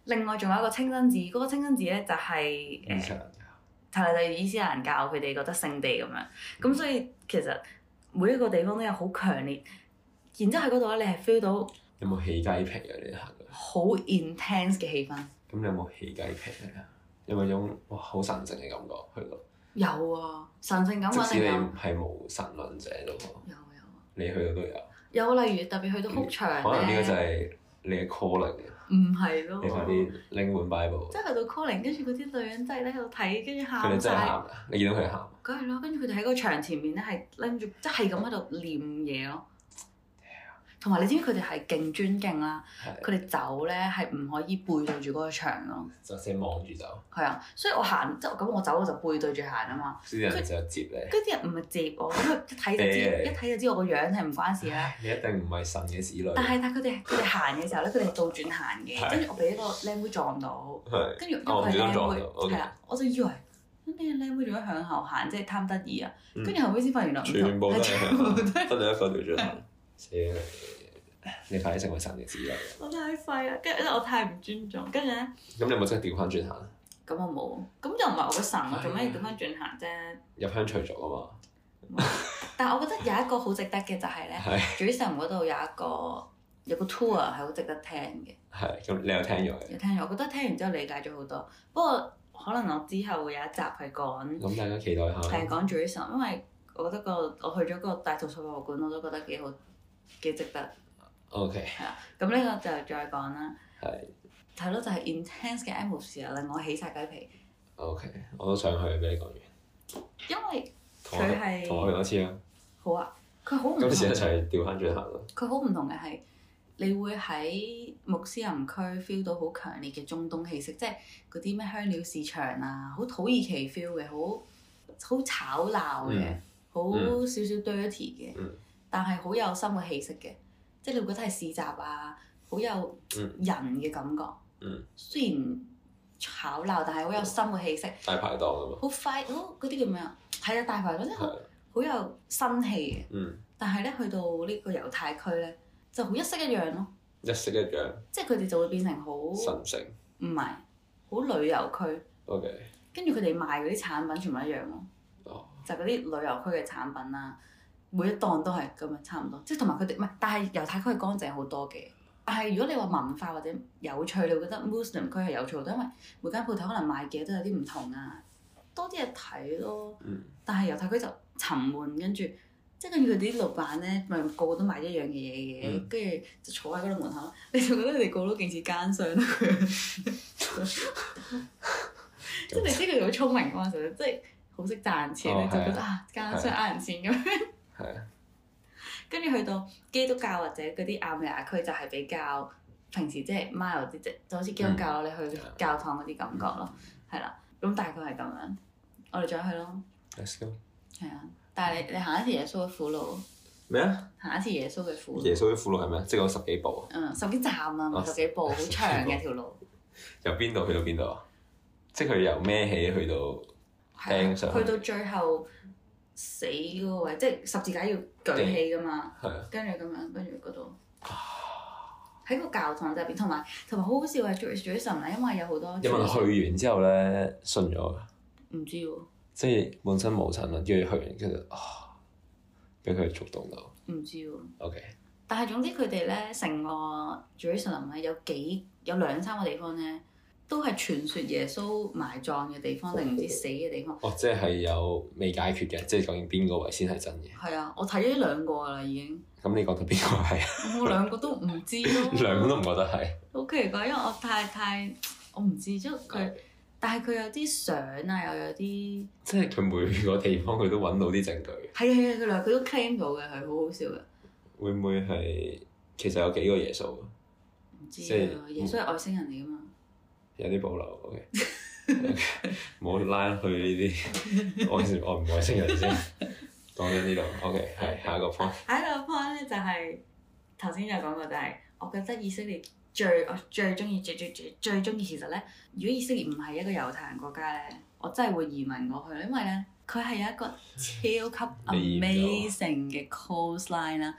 另外仲有一個清真寺，嗰、那個清真寺咧就係、是、誒，係啦，就係伊斯蘭教佢哋覺得聖地咁樣。咁、嗯、所以其實每一個地方都有好強烈，然之後喺嗰度咧，你係 feel 到有冇起雞皮啊？你行過好 intense 嘅氣氛。咁你有冇起雞皮啊？有冇種哇好神聖嘅感覺去到？ 有啊，神聖感覺一定有。 即使你係無神論者都好。有有。 你去到都有。 有例如特別去到哭牆咧。 可能呢個就係你嘅 calling。 唔係咯。 你快啲拎本 Bible。 即係去到 calling，跟住嗰啲女人真係喺度睇，跟住喊晒。 佢哋真係喊㗎！你見到佢哋喊？ 梗係啦，跟住佢哋喺個牆前面咧，係拎住，即係咁喺度念嘢咯。同埋你知唔知佢哋係勁尊敬啦？佢哋走咧係唔可以背對住嗰個牆咯。 就先望住走。係啊，所以我行即係咁，我走我就背對住行啊嘛。 啲人就接你。 跟住啲人唔係接我，因為一睇就知，一睇就知我個樣係唔關事啦。 你一定唔係神嘅子女。 但係但係佢哋佢哋行嘅時候咧，佢哋係倒轉行嘅，跟住我俾一個靚妹撞到，跟住因為佢係靚妹，係啊，我就以為咁啲靚妹做乜向後行，即係貪得意啊。跟住後尾先發現原來全部都係向後，得你一個調轉行。死啦！你快啲成為神嘅子女。 我太廢啦，跟住我太唔尊重，跟住咧。 咁你有冇即係調翻轉行？ 咁我冇，咁又唔係我嘅神，我做咩要調翻轉行啫？ 入鄉隨俗啊嘛。 但係我覺得有一個好值得嘅就係咧，Jerusalem嗰度有一個有個 tour 係好值得聽嘅。係， 咁你有聽咗？ 有聽咗，我覺得聽完之後理解咗好多。不過可能我之後會有一集係講。 咁大家期待下。 係講 Jerusalem，因為我覺得個我去咗個大圖書博物館，我都覺得幾好，幾值得。 O.K. 係啊，咁呢個就再講啦。 係。 係咯，就係 intense 嘅 atmosphere令我起晒雞皮。 O.K. 我都想去，俾你講完。 因為佢係。 同我去多次啊。好啊，佢好唔同。 今次一齊調翻轉行咯。 佢好唔同嘅係，你會喺穆斯林區 feel 到好強烈嘅中東氣息，即係嗰啲咩香料市場啊，好土耳其 feel 嘅，好好吵鬧嘅，好少少 dirty 嘅，但係好有生活氣息嘅。即係你會覺得係市集啊，好有人嘅感覺。嗯、雖然吵鬧，但係好有生活氣息。 大排檔啊嘛。 好快，好嗰啲叫咩啊？係啊，大排檔即係好好有生氣嘅。嗯、但係咧，去到呢個猶太區咧，就好一式一樣咯。一式一樣。 即係佢哋就會變成好神聖。唔係，好旅遊區。 OK。 跟住佢哋賣嗰啲產品全部一樣咯。哦。就係嗰啲旅遊區嘅產品啦。每一檔都係咁樣，差唔多。即係同埋佢哋唔係，但係猶太區係乾淨好多嘅。但係如果你話文化或者有趣，你會覺得 Muslim 區係有趣好多，因為每間鋪頭可能賣嘅都有啲唔同啊，多啲嘢睇咯。嗯、但係猶太區就沉悶，跟住即係跟住佢啲老闆咧，咪個個都賣一樣嘅嘢嘅，跟住、嗯、就坐喺嗰度門口，你就覺得佢哋個個都勁似奸商咯。即係你知佢哋好聰明嗰陣時，即係好識賺錢咧，哦、就覺得啊奸商呃人錢咁樣。係啊，跟住去到基督教或者嗰啲亞美尼亞區就係比較平時即係 mild 啲，即就好似基督教、嗯、你去教堂嗰啲感覺咯，係啦、嗯，咁大概係咁樣，我哋再去咯。 Let's go。 係啊，但係你你行一次耶穌嘅苦路。咩啊？行一次耶穌嘅苦路。 耶穌嘅苦路係咩？即係講十幾步啊？ 嗯，十幾站啊，唔係十幾步，好長嘅條路。 由邊度去到邊度啊？即係佢由孭起去到釘上去。 去到最後。死嗰個位，即係十字架要舉起噶嘛，跟住咁樣，跟住嗰度喺個教堂入邊，同埋同埋好好笑係做做啲神啊，因為有好多。 有冇人去完之後咧信咗㗎？ 唔知喎。 即係本身無神論，跟住去完跟住啊，俾佢觸動到。 唔知喎。 OK。 但係總之佢哋咧成個 Jerusalem 咧有幾有兩三個地方咧。都係傳說耶穌埋葬嘅地方，定唔知死嘅地方？ 哦，即係有未解決嘅，即係究竟邊個位先係真嘅？ 係啊，我睇咗呢兩個啦，已經。 咁你覺得邊個係啊？ 我兩個都唔知咯。 兩個都唔覺得係。 好奇怪，因為我太太我唔知，即係佢，但係佢有啲相啊，又有啲。即係佢每個地方佢都揾到啲證據。 係啊係啊，佢兩佢都 claim 到嘅，係好好笑嘅。 會唔會係其實有幾個耶穌啊？ 唔知啊，耶穌係外星人嚟㗎嘛。 有啲保留，OK，唔好拉去呢啲外外唔外星人先。講緊呢度，OK，係下一個 point。 下一個 point 咧就係頭先有講過，就係我覺得以色列最我最中意最最最最中意其實咧，如果以色列唔係一個猶太人國家咧，我真係會移民過去，因為咧佢係有一個超級 amazing 嘅 coastline 啦。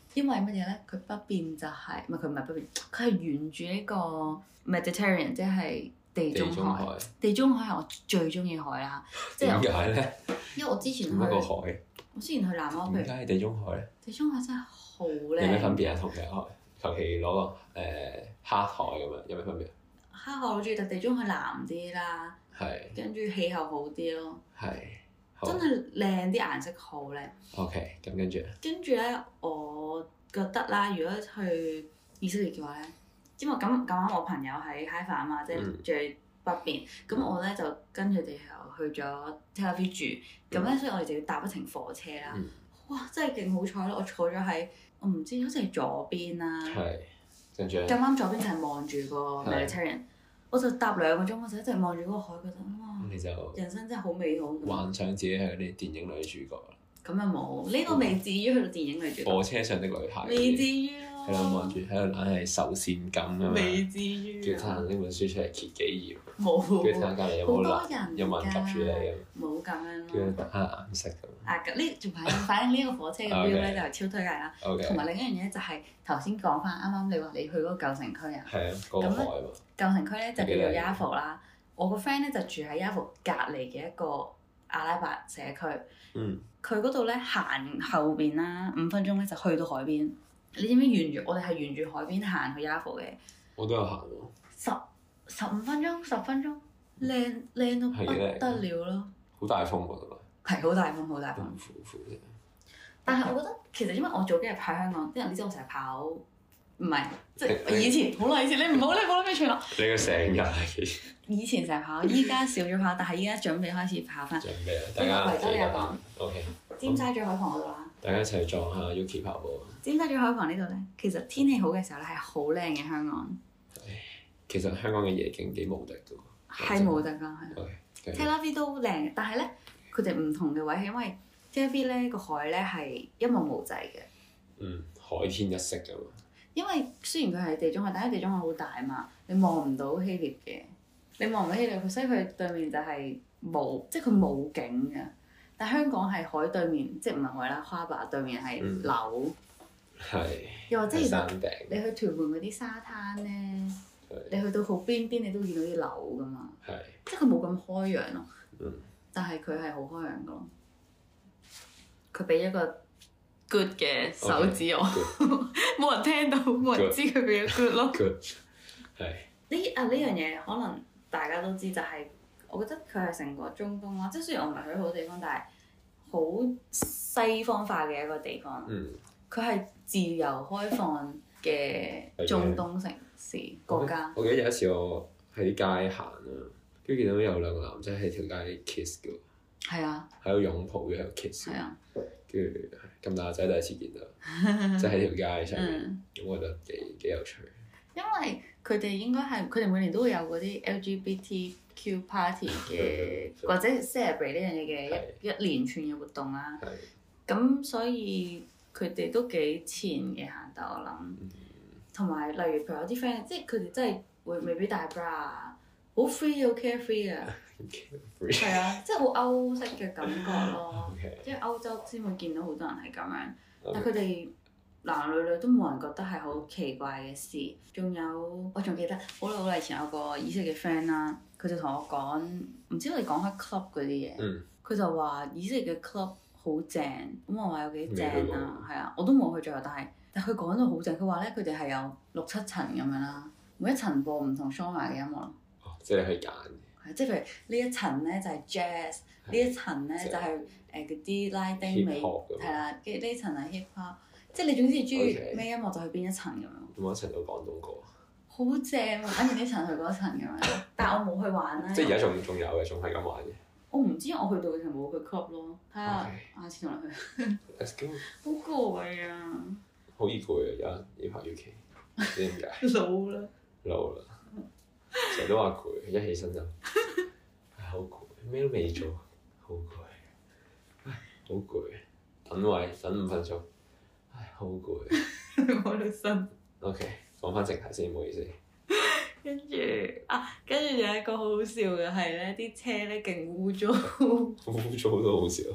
因為乜嘢咧？佢北邊就係唔係佢唔係北邊，佢係沿住呢個 Mediterranean，即係地中海。地中海係我最中意海啦。 點解咧？ 因為我之前去。 一個海。 我之前去南歐， 點解係地中海咧？ 地中海真係好靚。 有咩分別啊？同其他海？求其攞個誒、呃、黑海咁樣，有咩分別？ 黑海我中意，但地中海藍啲啦。係是。跟住氣候好啲咯。係。真係靚，啲顏色好靚。 OK，咁跟住。跟住咧，我覺得啦，如果去以色列嘅話咧，因為咁咁啱我朋友喺 Haifa 啊嘛，即係住喺北邊，咁、嗯、我咧就跟佢哋又去咗 Tel Aviv 住，咁咧、嗯、所以我哋就要搭一程火車啦。嗯、哇！真係勁好彩咯，我坐咗喺我唔知好似係左邊啦。係。跟住。咁啱左邊就係望住個 Mediterranean，我就搭兩個鐘，我就一直望住嗰個海，覺得哇！你就人生真係好美好。 幻想自己係嗰啲電影女主角啦。 咁又冇，呢、這個未至於去到電影女主角。 火車上的女孩。 未至於咯。 係咯，望住喺度硬係受線感啊嘛。 未至於。 叫睇下呢本書出嚟揭幾頁。 冇。 跟住睇下隔離有冇男，有冇人及住你咁。 冇咁樣咯。 跟住睇下顏色咁。 啊，呢仲反正反正呢個火車嘅標咧就係超推介啦。同埋另一樣嘢就係頭先講翻，啱啱你話你去嗰個舊城區啊。係啊，嗰個海啊嘛。舊城區咧就叫做 Yafo 啦。我個 friend 咧就住喺 Yafo 隔離嘅一個阿拉伯社區。嗯。佢嗰度咧行後邊啦，五分鐘咧就去到海邊。你知唔知沿住我哋係沿住海邊行去 Yafo 嘅？ 我都有行喎。 十十五分鐘，十分鐘，靚靚到不得了咯！ 好大風喎，同埋。係好大風，好大風。 呼呼啫。 但係我覺得其實因為我早幾日喺香港，啲人你知我成日跑，唔係即係以前好耐以前，你唔好你唔好諗咩串咯。 你個成日係。 以前成日跑，依家少咗跑，但係依家準備開始跑翻。準備啊！大家維多利亞港。O K。尖沙咀海旁嗰度啦。 大家一齊撞下 Yuki 跑步。 尖沙咀海旁呢度咧，其實天氣好嘅時候咧係好靚嘅香港。 其實香港嘅夜景幾無敵㗎喎。 係無敵㗎，係。Tel Aviv 都靚，但係咧佢哋唔同嘅位係因為 Tel Aviv 咧個海咧係一望無際嘅。嗯， 海天一色㗎嘛。 因為雖然佢係地中海，但係地中海好大嘛，你望唔到希臘嘅。你望唔到希臘，所以佢對面就係冇，即係佢冇景㗎。但香港係海對面，即係唔係海啦，哈巴對面係樓。係、嗯。又或者其實你去屯門嗰啲沙灘咧，是你去到好邊邊，你都見到啲樓㗎嘛。係是。即係佢冇咁開揚咯。嗯。但係佢係好開揚㗎咯。佢俾一個 good 嘅手指我，冇 Okay, 人聽到，冇 good. 人知佢俾咗 good 咯。good。係。呢啊呢樣嘢可能大家都知，就係、是。我覺得佢係成個中東啦，即係雖然我唔係去好多地方，但係好西方化嘅一個地方。嗯。佢係自由開放嘅中東城市的國家。 我記得有一次我喺啲街行啊，跟住見到有兩個男仔喺條街 kiss 嘅。係啊。喺度擁抱嘅喺度 kiss。係啊。跟住咁大個仔第一次見到，即係喺條街上面，咁、嗯、我覺得幾幾有趣。 因為佢哋應該係佢哋每年都會有嗰啲 L G B T Q party 嘅，或者 celebrate 呢樣嘢嘅一一連串嘅活動啦。咁所以佢哋都幾前嘅行得我諗。同埋例如譬如有啲 friend，即係佢哋真係會未必戴 bra 啊，好 free 好 carefree 啊。係啊，即係好歐式嘅感覺咯。即係歐洲先會見到好多人係咁樣，但佢哋。男女女都冇人覺得係好奇怪嘅事，仲有我仲記得好耐好耐以前有個以色列嘅 friend 啦，佢就同我講，唔知我哋講開 club 嗰啲嘢，佢、嗯、就話以色列嘅 club 好正，咁我話有幾正啊，係啊，我都冇去最後，但係但佢講到好正，佢話咧佢哋係有六七層咁樣啦，每一層播唔同 genre 嘅音樂咯。 哦，即係你可以揀。 係，即係譬如呢一層咧就係 jazz，呢一層咧就係誒嗰啲拉丁美，係啦，跟住呢層係 hip hop。即係你總之中意咩音樂就去邊一層咁樣。有冇一層到廣東歌？好正喎！跟住呢層去嗰層咁樣，但係我冇去玩啦。 即係而家仲仲有嘅，仲係咁玩嘅。 我唔知，我去到嘅時候冇去 club 咯。睇下下次同你去。Let's go！好攰啊！ 好易攰啊！而家呢排 U K，唔知點解。 老啦。 老啦。成日都話攰，一起身就唉好攰，咩都未做，好攰，唉好攰，等位等五分鐘。唉，好攰。 我都心。 OK，講翻正題先，唔好意思。 跟住啊，跟住有一個好好笑嘅係咧，啲車咧勁污糟。 污糟都好笑。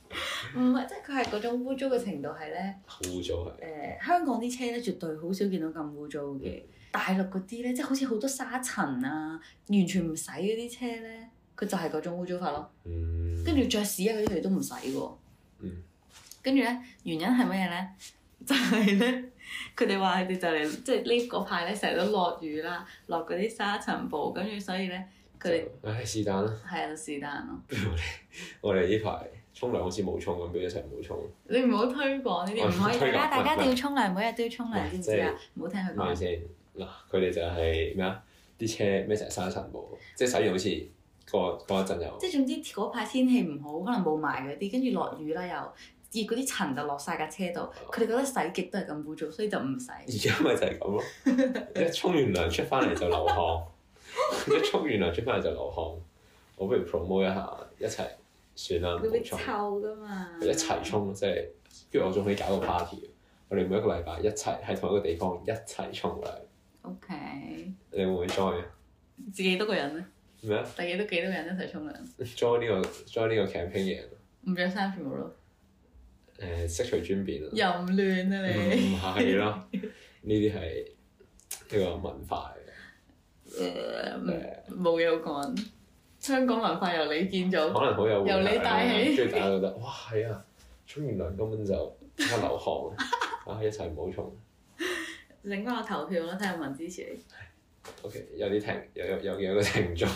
唔係，即係佢係嗰種污糟嘅程度係咧。 好污糟係。誒、 呃，香港啲車咧，絕對好少見到咁污糟嘅。大陸嗰啲咧，即係好似好多沙塵啊，完全唔洗嗰啲車咧，佢就係嗰種污糟法咯。 嗯。 跟住着屎啊嗰啲佢哋都唔洗喎。 嗯。 跟住咧，原因係乜嘢咧？就係咧，佢哋話佢哋就嚟，即係呢嗰排咧成日都落雨啦，落嗰啲沙塵暴，跟住所以咧，佢哋唉是但啦。 係啊，是但咯。 不如我哋我哋呢排沖涼好似冇沖咁，不如一齊唔好沖。 你唔好推廣呢啲，唔可以。大家大家一定要沖涼，每日都要沖涼，知唔知啊？唔好聽佢講。 咪先嗱，佢哋就係咩啊？啲車咩成日沙塵暴，即係洗完好似過過一陣又。 即係總之嗰排天氣唔好，可能霧霾嗰啲，跟住落雨啦又，熱嗰啲塵就落晒架車度，佢哋覺得洗極都係咁污糟，所以就唔洗。 而家咪就係咁咯，一沖完涼出翻嚟就流汗，一沖完涼出翻嚟就流汗。我不如 promote 一下，一齊算啦，唔好沖。會臭㗎嘛！ 一齊沖，即係，跟住我仲可以搞個 party。我哋每一個禮拜一齊喺同一個地方一齊沖涼。 O K。 你會唔會 join 啊？ 自己多個人咧？ 咩啊？ 第幾多幾多個人一齊沖涼 ？join 呢個 join 呢個 campaign 嘅人。 唔着衫全部咯。 誒，悉隨尊便咯。 淫亂啊你！ 唔係咯，呢啲係一個文化嚟嘅。誒，冇嘢好講。香港文化由你建造。 可能好有。 由你帶起。 跟住大家覺得，哇係啊！沖完涼根本就即刻流汗啊！一齊唔好沖。 整翻個投票咯，睇下有冇人支持你。 O.K. 有啲停，有有有有個聽眾。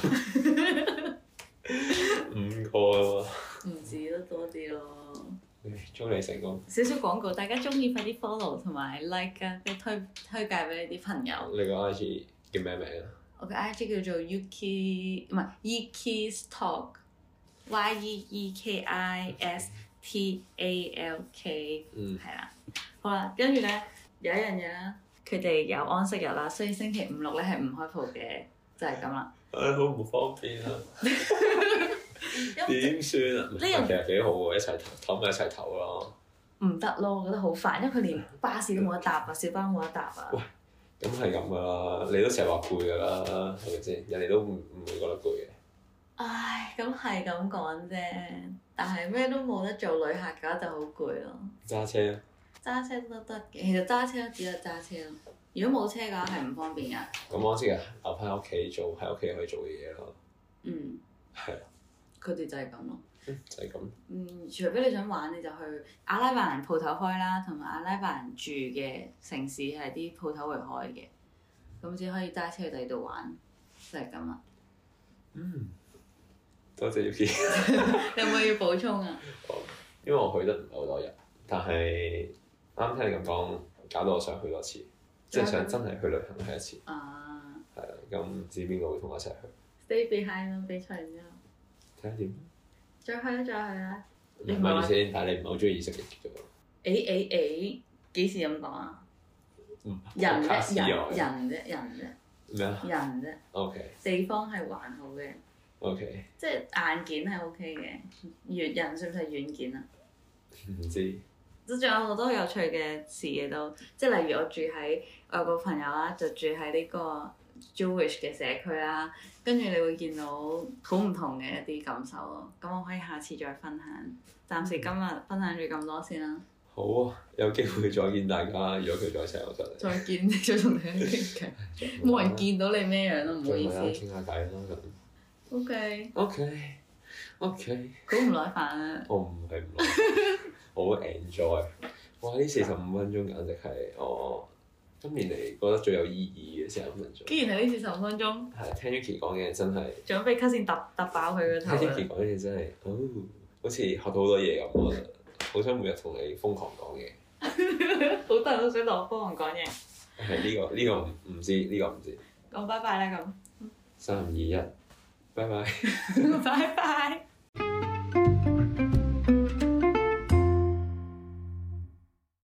五個咯喎。唔止都多啲咯。 祝你成功。少少廣告，大家中意快啲 follow 同埋 like 啊，跟住推推介俾你啲朋友。 你個 I G 叫咩名啊？ 我嘅 I G 叫做 Yuki 唔係 Ekis Talk，Y E E K I S T A L K， 嗯，係啦。好啦，跟住咧有一樣嘢啦，佢哋有安息日啦，所以星期五六咧係唔開鋪嘅，就係咁啦。 唉，好唔方便啊！點算啊？呢樣其實幾好喎，一齊唞咪一齊唞咯。 唔得咯，我覺得好煩，因為佢連巴士都冇得搭啊，小巴冇得搭啊。 喂，咁係咁噶啦，你都成日話攰噶啦，係咪先？人哋都唔唔會覺得攰嘅。 唉，咁係咁講啫，但係咩都冇得做，旅客嘅話就好攰咯。 揸車啊！ 揸車都得嘅，其實揸車都只係揸車咯。如果冇車嘅話係唔方便噶。 咁我知嘅，留翻喺屋企做，喺屋企可以做嘅嘢咯。 嗯。係啊。佢哋就係咁咯。 嗯，就係咁。 嗯，除非你想玩，你就去阿拉伯人鋪頭開啦，同埋阿拉伯人住嘅城市係啲鋪頭會開嘅，咁只可以揸車去第二度玩，就係咁啦。 嗯。多謝 Yuki。 你有冇要補充啊？ 因為我去得唔係好多日，但係啱聽你咁講，搞到我想去多次，即係想真係去旅行去一次。啊。係啊，咁唔知邊個會同我一齊去 ？Stay behind 咯，比賽完之後。 睇下點？ 再去啦，再去啦！ 唔係意思，但係你唔係好中意以色列嘅啫喎。 誒誒誒，幾時咁講啊？人啫，人人啫，人啫。 咩啊？ 人啫。O K。地方係還好嘅。O K。即係硬件係 O K 嘅，軟人算唔算係軟件啊？ 唔知。 都仲有好多有趣嘅事嘅都，即係例如我住喺我有個朋友啦，就住喺呢個 Jewish 嘅社區啦，跟住你會見到好唔同嘅一啲感受咯。咁我可以下次再分享，暫時今日分享住咁多先啦。 好啊，有機會再見大家。如果佢再請我出嚟， 再見，再同你傾偈。冇人見到你咩樣咯，唔好意思。 傾下偈啦咁。 O K。 O K。O K。 好唔耐煩啊！ 我唔係唔耐煩，我好 enjoy。哇！呢四十五分鐘簡直係我今年嚟覺得最有意義嘅四十五分鐘。既然係呢四十五分鐘。係聽 Yuki 講嘅真係。準備 cut 線揼揼爆佢個頭。聽 Yuki 講嘅真係，哦，好似學到好多嘢咁，我覺得好想每日同你瘋狂講嘢。好多人都想同我瘋狂講嘢。係呢個呢個唔唔知呢個唔知。講拜拜啦咁。三二一，拜拜。拜拜。